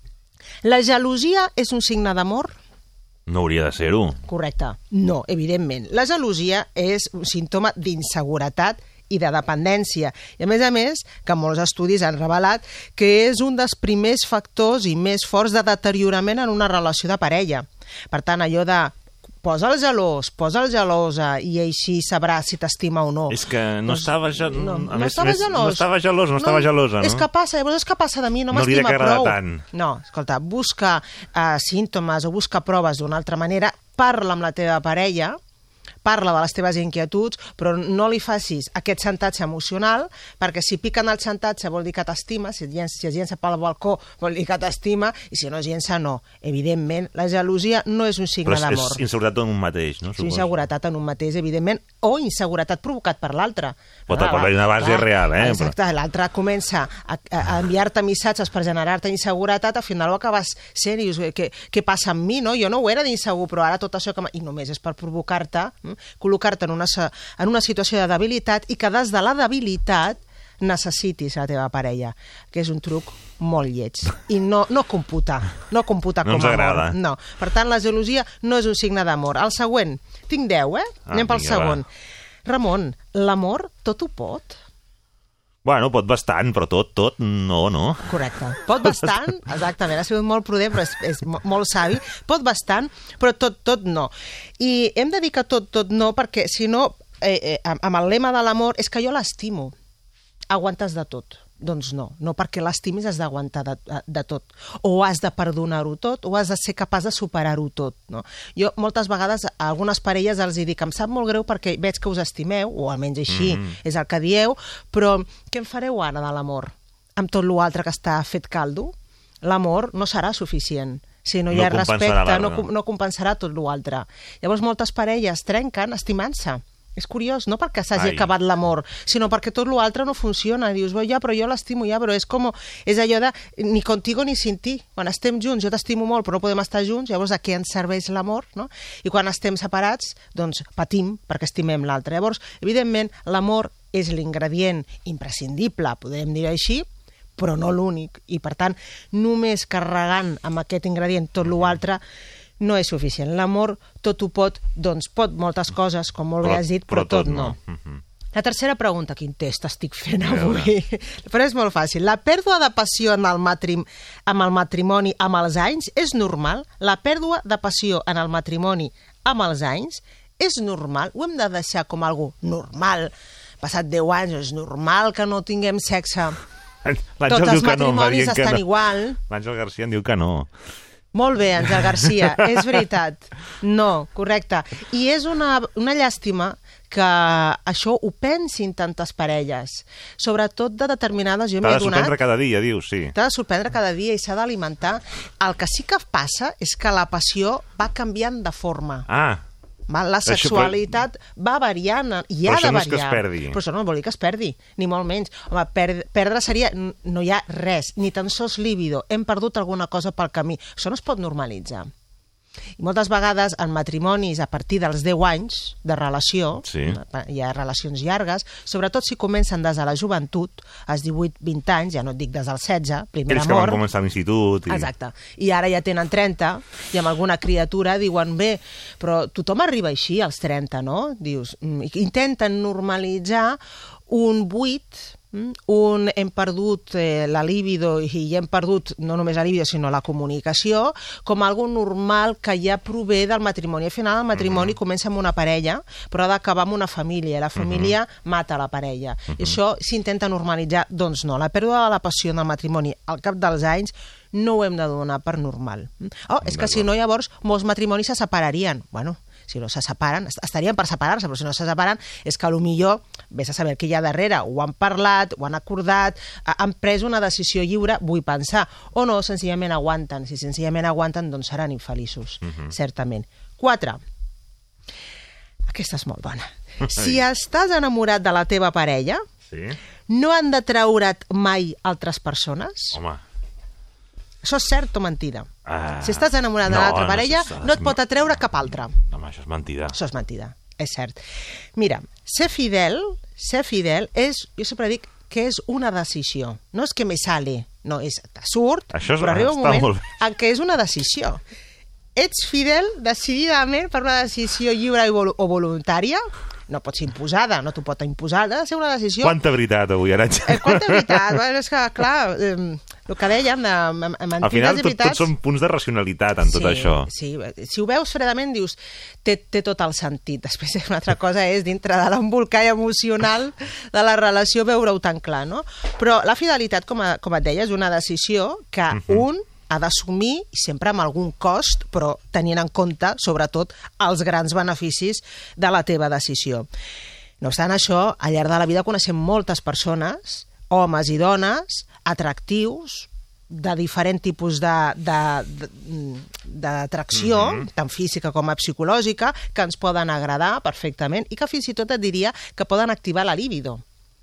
la gelosia és un signe d'amor?
No hauria de ser-ho.
Correcte. No, evidentment. La gelosia és un símptoma d'inseguretat i de dependència. I a més, que molts estudis han revelat que és un dels primers factors i més forts de deteriorament en una relació de parella. Per tant, allò de posa el gelós, posa el gelosa, i així sabrà si t'estima o no.
És que no estava gelosa, no?
És que passa, llavors és que passa de mi, no m'estima prou.
Tant.
No, escolta, busca símptomes o busca proves d'una altra manera, parla amb la teva parella, parla de les teves inquietuds, però no li facis aquest xantatge emocional, perquè si piquen el xantatge vol dir que t'estima, si es llença pel balcó vol dir que t'estima, i si no es llença, no. Evidentment, la gelosia no és un signe d'amor.
Però és inseguretat en un mateix, no?
És inseguretat en un mateix, evidentment, o inseguretat provocat per l'altre.
Pot haver una base real,
Exacte, l'altre comença a enviar-te missatges per generar-te inseguretat, al final ho acabes sent i dius, què passa amb mi, no? Jo no ho era d'insegur, però ara tot això i només és per provocar-te, col·locar-te en una situació de debilitat, i que des de la debilitat necessitis la teva parella, que és un truc molt lleig. I no computa com
ens agrada.
amor. No. Per tant, la gelosia no és un signe d'amor. El següent, tinc 10, Anem pel segon. Ramon, l'amor tot ho pot?
Bueno, pot bastant, però tot no.
Correcte. Pot bastant, exactament, ha sigut molt prudent, però és molt savi. Pot bastant, però tot no. I hem de dir que tot no, perquè si no, amb el lema de l'amor, és que jo l'estimo. Aguantes de tot. Doncs no perquè l'estimis has d'aguantar de tot. O has de perdonar-ho tot, o has de ser capaç de superar-ho tot. No? Jo moltes vegades a algunes parelles els dic, em sap molt greu perquè veig que us estimeu, o almenys així és el que dieu, però què en fareu ara de l'amor? Amb tot l'altre que està fet caldo? L'amor no serà suficient. Si no hi ha respecte, no compensarà tot l'altre. Llavors moltes parelles trenquen estimant-se. És curiós, no perquè s'hagi acabat l'amor, sinó perquè tot l'altre no funciona. Dius, ja, però jo l'estimo ja, però és allò de ni contigo ni sin ti. Quan estem junts, jo t'estimo molt, però no podem estar junts, llavors a què ens serveix l'amor, no? I quan estem separats, doncs patim perquè estimem l'altre. Llavors, evidentment, l'amor és l'ingredient imprescindible, podem dir així, però no l'únic. I, per tant, només carregant amb aquest ingredient tot l'altre no és suficient. L'amor tot ho pot, doncs pot moltes coses, com molt bé has dit, però tot no. La tercera pregunta, quin test estic fent avui? Però és molt fàcil. La pèrdua de passió amb el matrimoni amb els anys és normal? La pèrdua de passió en el matrimoni amb els anys és normal? Ho hem de deixar com algo normal? Passat 10 anys, és normal que no tinguem sexe? Tots els matrimonis estan igual.
L'Àngel Garcia en diu que no.
Molt bé, Àngel Garcia, és veritat. No, correcte. I és una llàstima que això ho pensin tantes parelles, sobretot de determinades...
T'ha de sorprendre cada dia, dius, sí.
T'ha de sorprendre cada dia i s'ha d'alimentar. El que sí que passa és que la passió va canviant de forma. La sexualitat va variant i ha de variar. Però això no és que es perdi. Però això no vol dir que es perdi, ni molt menys. Home, perdre seria... No hi ha res, ni tan sols líbido. Hem perdut alguna cosa pel camí. Això no es pot normalitzar. I moltes vegades en matrimonis a partir dels 10 anys de relació, hi ha relacions llargues, sobretot si comencen des de la joventut, als 18-20 anys, ja no et dic des dels 16, primer amor...
Ells que van començar a l'institut...
Exacte. I ara ja tenen 30, i amb alguna criatura diuen, bé, però tothom arriba així als 30, no? Dius, intenten normalitzar un buit... hem perdut la libido i hem perdut no només la libido sinó la comunicació com algo normal que ja prové del matrimoni. Al final el matrimoni comença amb una parella però ha d'acabar amb una família. La família mata la parella. I això s'intenta normalitzar. Doncs no, la pèrdua de la passió en el matrimoni al cap dels anys no ho hem de donar per normal. És que si no llavors molts matrimonis se separarien. Bueno, si no se separen, estarien per separar-se, però si no se separen és que potser, vés a saber què hi ha darrere, ho han parlat, ho han acordat, han pres una decisió lliure, vull pensar, o no, senzillament aguanten. Si senzillament aguanten, doncs seran infeliços, certament. 4. Aquesta és molt bona. Si estàs enamorat de la teva parella, no han de treure't mai altres persones?
Home...
Això és cert o mentida? Si estàs enamorat de l'altra parella, no et pot atreure cap altra.
Home, això és mentida.
Això és mentida, és cert. Mira, ser fidel és, jo sempre dic que és una decisió. No és que me sale, no, és te surt, però arriba un moment en què és una decisió. Ets fidel decididament per una decisió lliure o voluntària? No pot ser imposada, no t'ho pot imposar, ha de ser una decisió...
Quanta veritat avui, Arantxa.
Quanta veritat, és que, clar, el que dèiem de mentides
al final,
i veritats...
tots són punts de racionalitat en tot això.
Sí, si ho veus fredament dius, té tot el sentit. Després una altra cosa és dintre de l'embolcall emocional de la relació veure-ho tan clar, no? Però la fidelitat, com et deia, és una decisió que un ha d'assumir sempre amb algun cost, però tenint en compte, sobretot, els grans beneficis de la teva decisió. No obstant això, al llarg de la vida coneixem moltes persones, homes i dones, atractius, de diferent tipus d'atracció, tant física com psicològica, que ens poden agradar perfectament i que fins i tot et diria que poden activar la libido.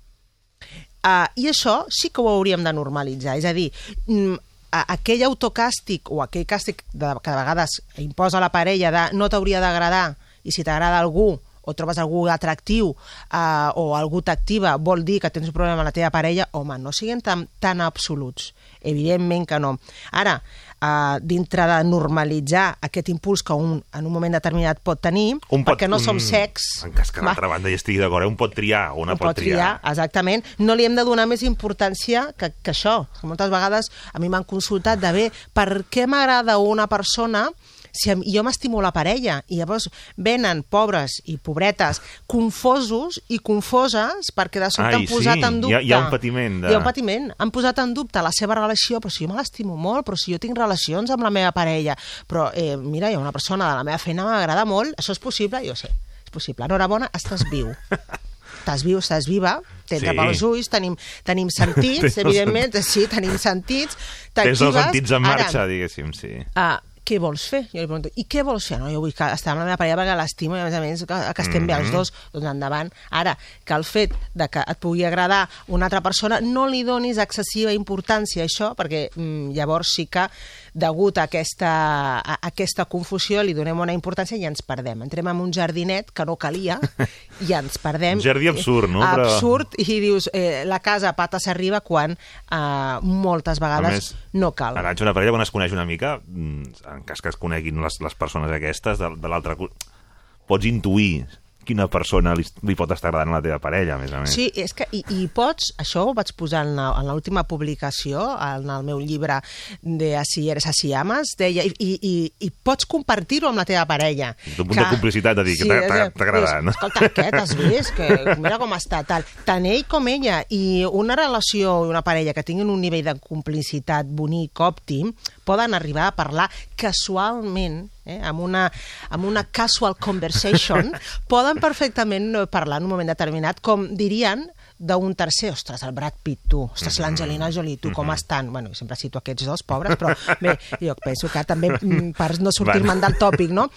I això sí que ho hauríem de normalitzar, és a dir, aquell autocàstig o aquell càstig que de vegades imposa la parella de no t'hauria d'agradar i si t'agrada algú o trobes algú atractiu o algú t'activa vol dir que tens un problema amb la teva parella, home, no siguin tan absoluts. Evidentment que no. Ara, dintre de normalitzar aquest impuls que un en un moment determinat pot tenir, perquè no som secs...
En cas que l'altra banda hi estigui d'acord, un pot triar, una pot triar.
Exactament. No li hem de donar més importància que això. Moltes vegades a mi m'han consultat de bé, per què m'agrada una persona si jo m'estimo la parella? I llavors venen pobres i pobretes confosos i confoses perquè de sobte han posat en dubte...
Hi ha un patiment.
Hi ha un patiment. Han posat en dubte la seva relació, però si jo me l'estimo molt, però si jo tinc relacions amb la meva parella, però mira, hi ha una persona de la meva feina que m'agrada molt, això és possible? Jo sé, és possible. Enhorabona, estàs viu. Estàs viu, estàs viva, t'entra pels ulls, tenim sentits, evidentment, sí, tenim sentits,
tens els sentits en marxa, diguéssim, sí.
què vols fer? Jo li pregunto, i què vols fer? No, jo vull estar amb la meva parella perquè l'estimo i a més que estem bé els dos, doncs endavant. Ara, que el fet de que et pugui agradar una altra persona no li donis excessiva importància a això, perquè llavors sí que degut a aquesta confusió li donem una importància i ens perdem. Entrem en un jardinet que no calia i ens perdem.
Un jardí absurd, no?
Absurd, i dius, la casa a pates arriba quan moltes vegades no cal.
Ara, una parella, quan es coneix una mica, en cas que es coneguin les persones aquestes de l'altre, pots intuir quina persona li pot estar agradant a la teva parella, a més a més.
Sí, és que i pots, això ho vaig posar en l'última publicació, en el meu llibre de Así eres, así amas, deia, i pots compartir-ho amb la teva parella.
Un punt de complicitat, de dir que t'ha agradat, no?
Escolta, què t'has vist? Que mira com està, tal. Tant ell com ella, i una relació i una parella que tinguin un nivell de complicitat bonic, òptim, poden arribar a parlar casualment, amb una casual conversation, poden perfectament parlar en un moment determinat, com dirien d'un tercer, ostres, el Brad Pitt, tu, ostres, l'Angelina Jolie, tu, com estan? Bueno, sempre cito aquests dos, pobres, però bé, jo penso que també per no sortir-me'n del tòpic, no?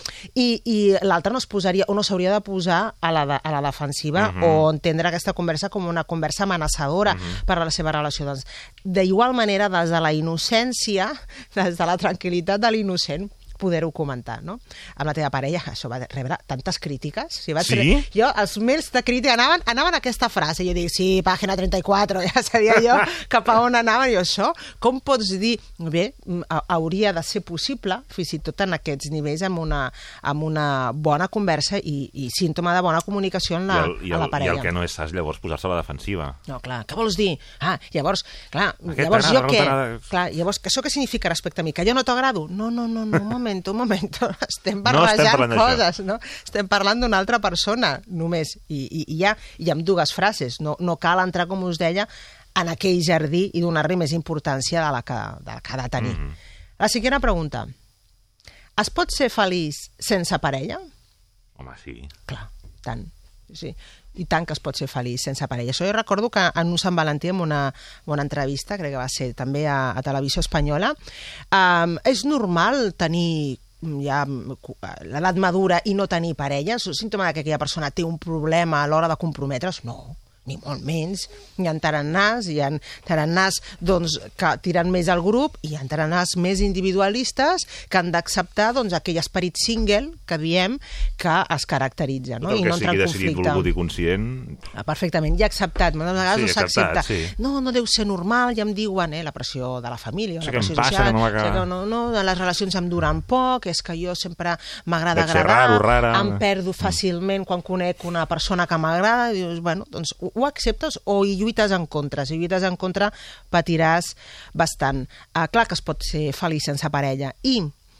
I l'altre no es posaria, o no s'hauria de posar a la defensiva o entendre aquesta conversa com una conversa amenaçadora per a la seva relació. Doncs, d'igual manera, des de la innocència, des de la tranquil·litat de l'innocent, poder-ho comentar, no? Amb la teva parella, això va rebre tantes crítiques.
Sí?
Jo, els mails de crítica anaven a aquesta frase. Jo dic, sí, pàgina 34, ja sabia jo cap a on anaven. I això, com pots dir? Bé, hauria de ser possible, fins i tot en aquests nivells, amb una bona conversa i símptoma de bona comunicació a la parella.
I el que no és saps, llavors, posar-se a la defensiva.
No, clar, què vols dir? Llavors, clar, jo què? Clar, llavors, això què significa respecte a mi? Que jo no t'agrado? No, un moment, estem barrejant coses, no? Estem parlant d'una altra persona, només, i amb dues frases, no cal entrar, com us deia, en aquell jardí i donar-li més importància de la que ha de tenir. La cinquena pregunta. Es pot ser feliç sense parella?
Home, sí.
Clar, tant, sí. I tant que es pot ser feliç sense parella. Això jo recordo que en un Sant Valentí, en una bona entrevista, crec que va ser també a Televisió Espanyola, és normal tenir ja l'edat madura i no tenir parella? És un símptoma que aquella persona té un problema a l'hora de comprometre's? No, ni molt menys. Hi ha tarannàs doncs, que tiren més al grup, i hi ha tarannàs més individualistes que han d'acceptar doncs, aquell esperit single que diem que es caracteritza, no?
Tot el que sigui decidit, volgut i conscient.
Perfectament, ja acceptat. Moltes vegades no s'accepta.
Sí.
No deu ser normal, ja em diuen, la pressió de la família, la pressió
social,
les relacions em duren poc, és que jo sempre m'agrada
agradar,
em perdo fàcilment quan conec una persona que m'agrada, i dius, bueno, doncs ho acceptes o hi lluites en contra? Si lluites en contra, patiràs bastant. Clar que es pot ser feliç sense parella. I,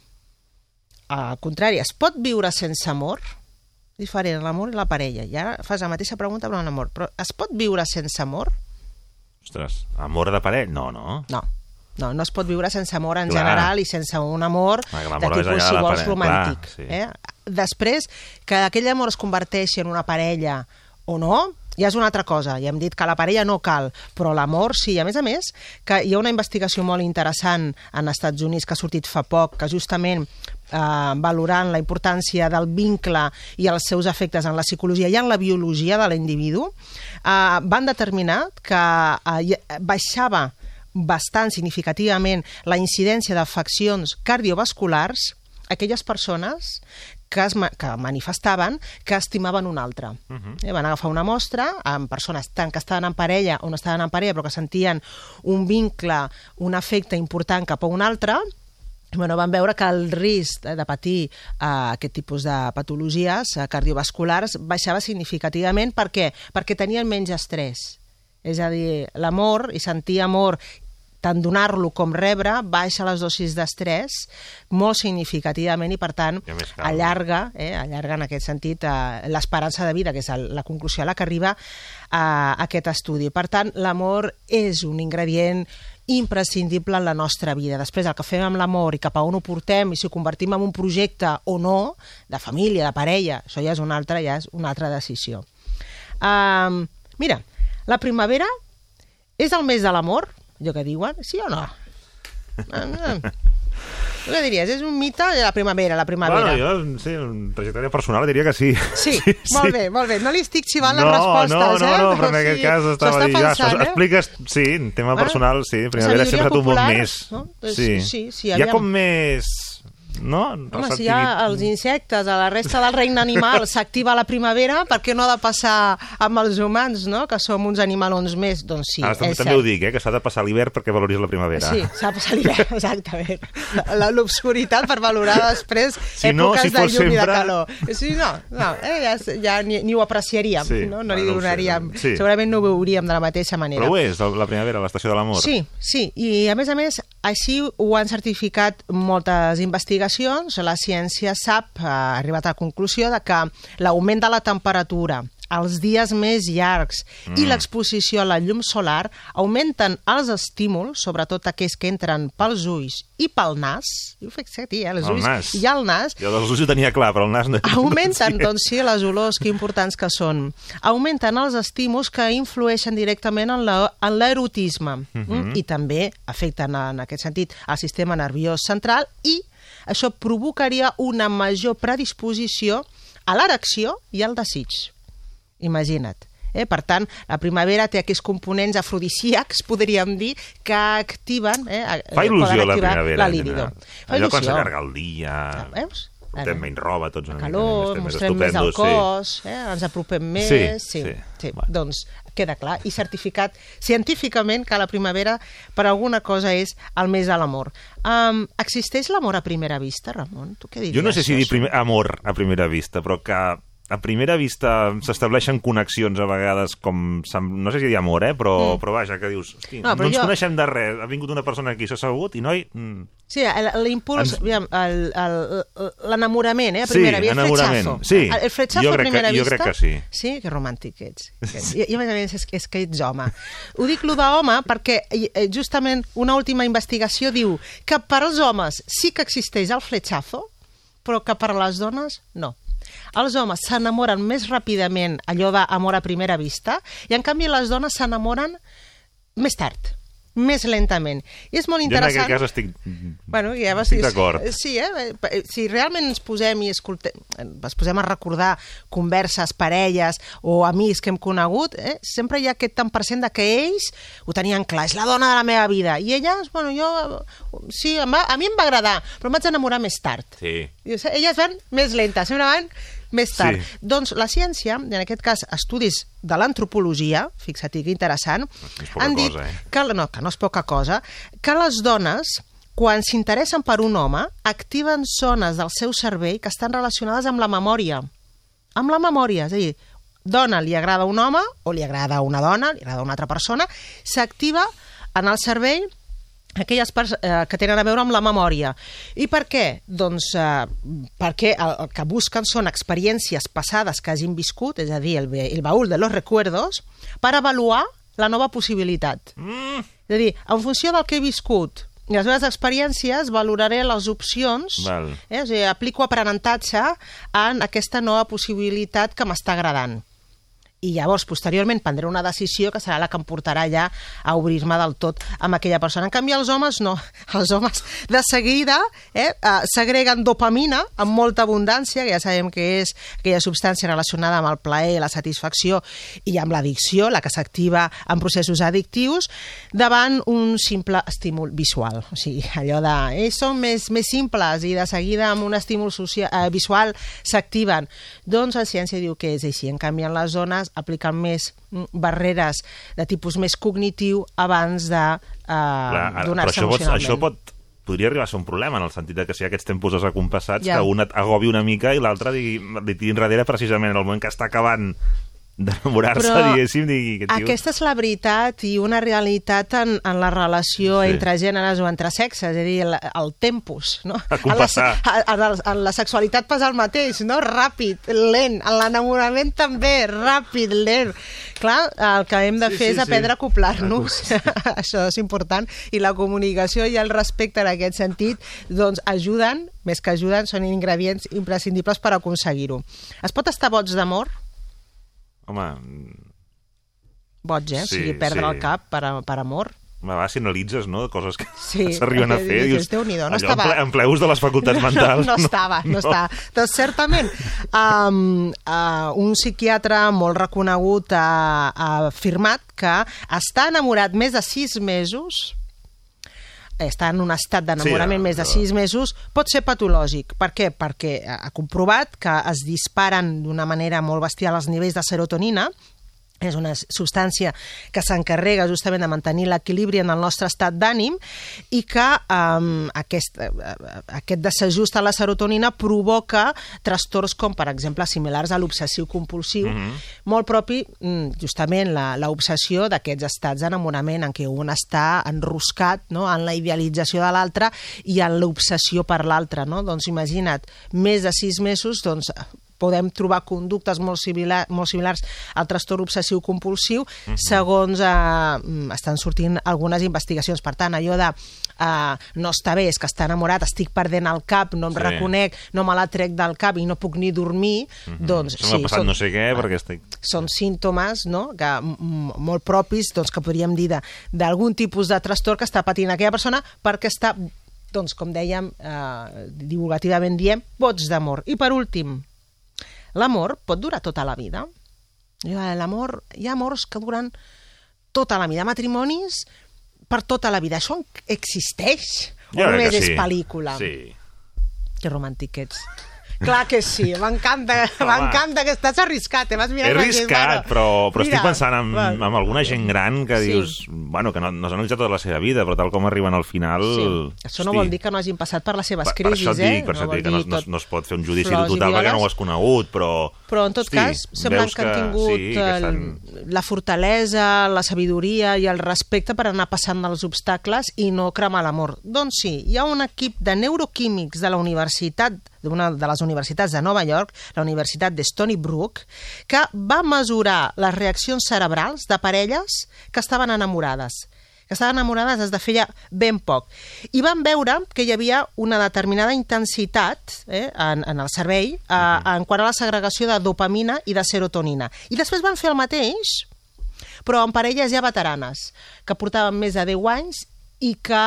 al contrari, es pot viure sense amor? Diferent, l'amor i la parella. I ara fas la mateixa pregunta però en amor. Però es pot viure sense amor?
Ostres, amor de parella? No.
No es pot viure sense amor en general i sense un amor de tipus, si vols, romàntic. Després, que aquell amor es converteixi en una parella o no, ja és una altra cosa. Ja hem dit que la parella no cal, però l'amor sí. A més, que hi ha una investigació molt interessant en els Estats Units que ha sortit fa poc, que justament valorant la importància del vincle i els seus efectes en la psicologia i en la biologia de l'individu, van determinar que baixava bastant significativament la incidència d'afeccions cardiovasculars aquelles persones que manifestaven que estimaven un altre. Van agafar una mostra amb persones tant que estaven en parella o no estaven en parella, però que sentien un vincle, un afecte important cap a un altre. Van veure que el risc de patir aquest tipus de patologies cardiovasculars baixava significativament. Per què? Perquè tenien menys estrès. És a dir, l'amor i sentir amor, tant donar-lo com rebre, baixa les dosis d'estrès molt significativament i, per tant, allarga en aquest sentit l'esperança de vida, que és la conclusió a la que arriba aquest estudi. Per tant, l'amor és un ingredient imprescindible en la nostra vida. Després, el que fem amb l'amor i cap a on ho portem i si ho convertim en un projecte o no, de família, de parella, això ja és una altra decisió. Mira, la primavera és el mes de l'amor, allò que diuen, sí o no? Tu què diries? És un mite de la primavera,
Bueno, jo, sí, en trajectòria personal diria que sí.
Sí, molt bé. No li estic xivant les respostes,
No, però en aquest cas estava dient... Expliques, sí, en tema personal, sí, primavera sempre t'ho molt més. Sí, hi ha com més... No?
Home, si hi ha els insectes, a la resta del regne animal s'activa la primavera, per què no ha de passar amb els humans, no? Que som uns animalons més? Doncs sí, és cert.
També ho dic, que s'ha de passar l'hivern perquè valoris la primavera.
Sí, s'ha de passar l'hivern, exactament. L'obscuritat per valorar després èpoques de llum i de calor. Sí, ja ni ho apreciaríem, no li donaríem... Segurament no ho veuríem de la mateixa manera.
Però ho és, la primavera, l'estació de l'amor.
Sí, i a més, així ho han certificat moltes investigacions. La ciència ha arribat a la conclusió de que l'augment de la temperatura, els dies més llargs i l'exposició a la llum solar augmenten els estímuls, sobretot aquells que entren pels ulls i pel nas. Jo ho fixa't, els ulls i el nas.
Jo dels ulls ho tenia clar, però el nas no.
Augmenten, doncs sí, les olors, que importants que són. Augmenten els estímuls que influeixen directament en l'erotisme i també afecten, en aquest sentit, el sistema nerviós central i això provocaria una major predisposició a l'erecció i al desig. Imagina't. Per tant, la primavera té aquests components afrodisíacs, podríem dir, que activen...
Fa il·lusió la primavera.
La libido.
Allò quan s'allarga el dia...
Veus?
Portem menys roba, tots una
calor, mostrem més el cos, ens apropem més... Sí. Doncs queda clar i certificat científicament que la primavera per alguna cosa és el mes de l'amor. Existeix l'amor a primera vista, Ramon? Tu què diries?
Jo no sé si dir amor a primera vista, però que a primera vista s'estableixen connexions a vegades com... No sé si dir amor, però vaja, que dius... Hosti, no ens coneixem de res, ha vingut una persona aquí, s'ha assegut i noi...
Sí, l'impuls, l'enamorament, a primera vista, el fletxazo.
Sí,
el fletxazo a primera vista.
Jo crec que sí.
Sí, que romàntic ets. I a més és que ets home. Ho dic lo d'home perquè justament una última investigació diu que per als homes sí que existeix el fletxazo, però que per a les dones no. Els homes s'enamoren més ràpidament, allò d'amor a primera vista, i en canvi les dones s'enamoren més tard, més lentament. I és molt interessant...
Jo en aquest cas estic
estic
d'acord.
Sí, si realment ens posem a recordar converses, parelles o amics que hem conegut, sempre hi ha aquest tant % de que ells ho tenien clar, és la dona de la meva vida. I elles, sí, a mi em va agradar, però em vaig enamorar més tard.
Sí.
Elles van més lentes, sempre van més tard. Sí. Doncs la ciència, en aquest cas estudis de l'antropologia, fixa't que interessant, han dit que no és poca cosa, que les dones, quan s'interessen per un home, activen zones del seu cervell que estan relacionades amb la memòria. Amb la memòria, és a dir, dona li agrada un home, o li agrada una dona, li agrada una altra persona, s'activa en el cervell aquelles parts que tenen a veure amb la memòria. I per què? Doncs perquè el que busquen són experiències passades que hagin viscut, és a dir, el baúl de los recuerdos, per avaluar la nova possibilitat. És a dir, en funció del que he viscut i les meves experiències, valoraré les opcions, és a dir, aplico aprenentatge en aquesta nova possibilitat que m'està agradant. I llavors, posteriorment, prendré una decisió que serà la que em portarà ja a obrir-me del tot amb aquella persona. En canvi, els homes no. Els homes de seguida segreguen dopamina amb molta abundància, que ja sabem que és aquella substància relacionada amb el plaer, la satisfacció i amb l'addicció, la que s'activa en processos addictius, davant un simple estímul visual. O sigui, allò de... Ells són més simples i de seguida amb un estímul visual s'activen. Doncs la ciència diu que és així. En canvi, en les zones apliquen més barreres de tipus més cognitiu abans de donar-se emocionalment.
Això podria arribar a ser un problema, en el sentit que si hi ha aquests tempos desacompassats, que un et agobi una mica i l'altre li tiri enrere precisament en el moment que està acabant d'enamorar-se, diguéssim.
Aquesta és la veritat i una realitat en la relació entre gèneres o entre sexes, és a dir, el tempus, no? En la sexualitat passa el mateix, no? Ràpid, lent, en l'enamorament també, ràpid, lent. Clar, el que hem de fer és aprendre a acoplar-nos, això és important, i la comunicació i el respecte en aquest sentit, doncs ajuden, més que ajuden, són ingredients imprescindibles per aconseguir-ho. Es pot estar boig d'amor?
Home...
Boig, o sigui, perdre el cap per amor.
si analitzes, no?, coses que s'arriben a fer.
Dius, Déu-n'hi-do, no estava...
En pleus de les facultats mentals.
No estava. Doncs certament, un psiquiatre molt reconegut ha afirmat que estar enamorat més de 6 mesos... està en un estat d'enamorament més de 6 mesos, pot ser patològic. Per què? Perquè ha comprovat que es disparen d'una manera molt bestial els nivells de serotonina. És una substància que s'encarrega justament de mantenir l'equilibri en el nostre estat d'ànim i que aquest desajust a la serotonina provoca trastorns com, per exemple, similars a l'obsessiu compulsiu, molt propi, justament, l'obsessió d'aquests estats d'enamorament en què un està enroscat, no?, en la idealització de l'altre i en l'obsessió per l'altre, no? Doncs imagina't, més de 6 mesos, doncs podem trobar conductes molt similars al trastorn obsessiu-compulsiu, segons estan sortint algunes investigacions. Per tant, allò de no està bé, és que està enamorat, estic perdent el cap, no em reconec, no me la trec del cap i no puc ni dormir, doncs
sí, no sé què, perquè estic...
Són símptomes, no?, molt propis, doncs, que podríem dir d'algun tipus de trastorn que està patint aquella persona perquè està, doncs, com dèiem, divulgativament diem, boig d'amor. I per últim, l'amor pot durar tota la vida. L'amor, hi ha amors que duren tota la vida, matrimonis per tota la vida. Això existeix? O només és pel·lícula?
Sí.
Que romàntic ets. Clar que sí, m'encanta que estàs arriscat. He
arriscat, però estic pensant en alguna gent gran que dius, bueno, que no s'ha analitzat tota la seva vida, però tal com arriben al final...
Això no vol dir que no hagin passat per les seves crisis,
Per això dic que no es pot fer un judici total perquè no ho has conegut, però...
Però en tot cas, sembla que han tingut la fortalesa, la sabidoria i el respecte per anar passant els obstacles i no cremar l'amor. Doncs sí, hi ha un equip de neuroquímics de la universitat, d'una de les universitats de Nova York, la Universitat de Stony Brook, que va mesurar les reaccions cerebrals de parelles que estaven enamorades des de feia ben poc. I van veure que hi havia una determinada intensitat en el cervell en quant a la segregació de dopamina i de serotonina. I després van fer el mateix, però en parelles ja veteranes, que portaven més de 10 anys i que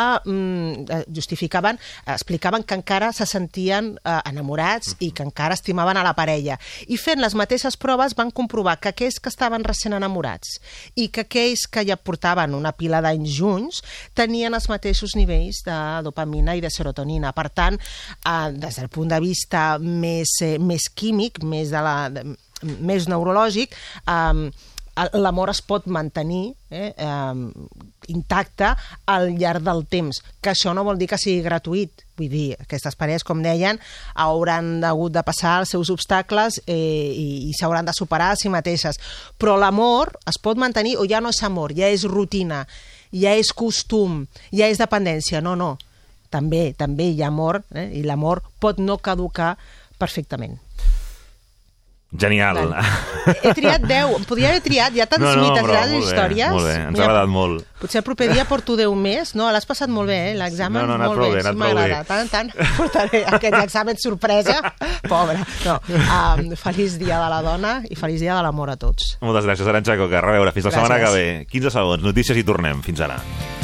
explicaven que encara se sentien enamorats i que encara estimaven a la parella. I fent les mateixes proves van comprovar que aquells que estaven recent enamorats i que aquells que ja portaven una pila d'anys junts tenien els mateixos nivells de dopamina i de serotonina. Per tant, des del punt de vista més químic, més neurològic, l'amor es pot mantenir intacte al llarg del temps, que això no vol dir que sigui gratuït. Vull dir, aquestes parelles, com deien, hauran hagut de passar els seus obstacles i s'hauran de superar a si mateixes. Però l'amor es pot mantenir, o ja no és amor, ja és rutina, ja és costum, ja és dependència. No. També hi ha amor, i l'amor pot no caducar perfectament.
Genial.
He triat 10. Em podria haver triat, hi ha tants mites, grans històries.
Molt bé, ens ha agradat molt.
Potser el proper dia porto 10 més, no? L'has passat molt bé, l'examen?
No, ha anat prou bé,
sí, m'agrada. Tant portaré aquest examen sorpresa. Pobre. Feliç dia de la dona i feliç dia de l'amor a tots.
Moltes gràcies, Arantxa Coca. A reveure, fins la setmana que ve. 15 segons, notícies i tornem. Fins ara.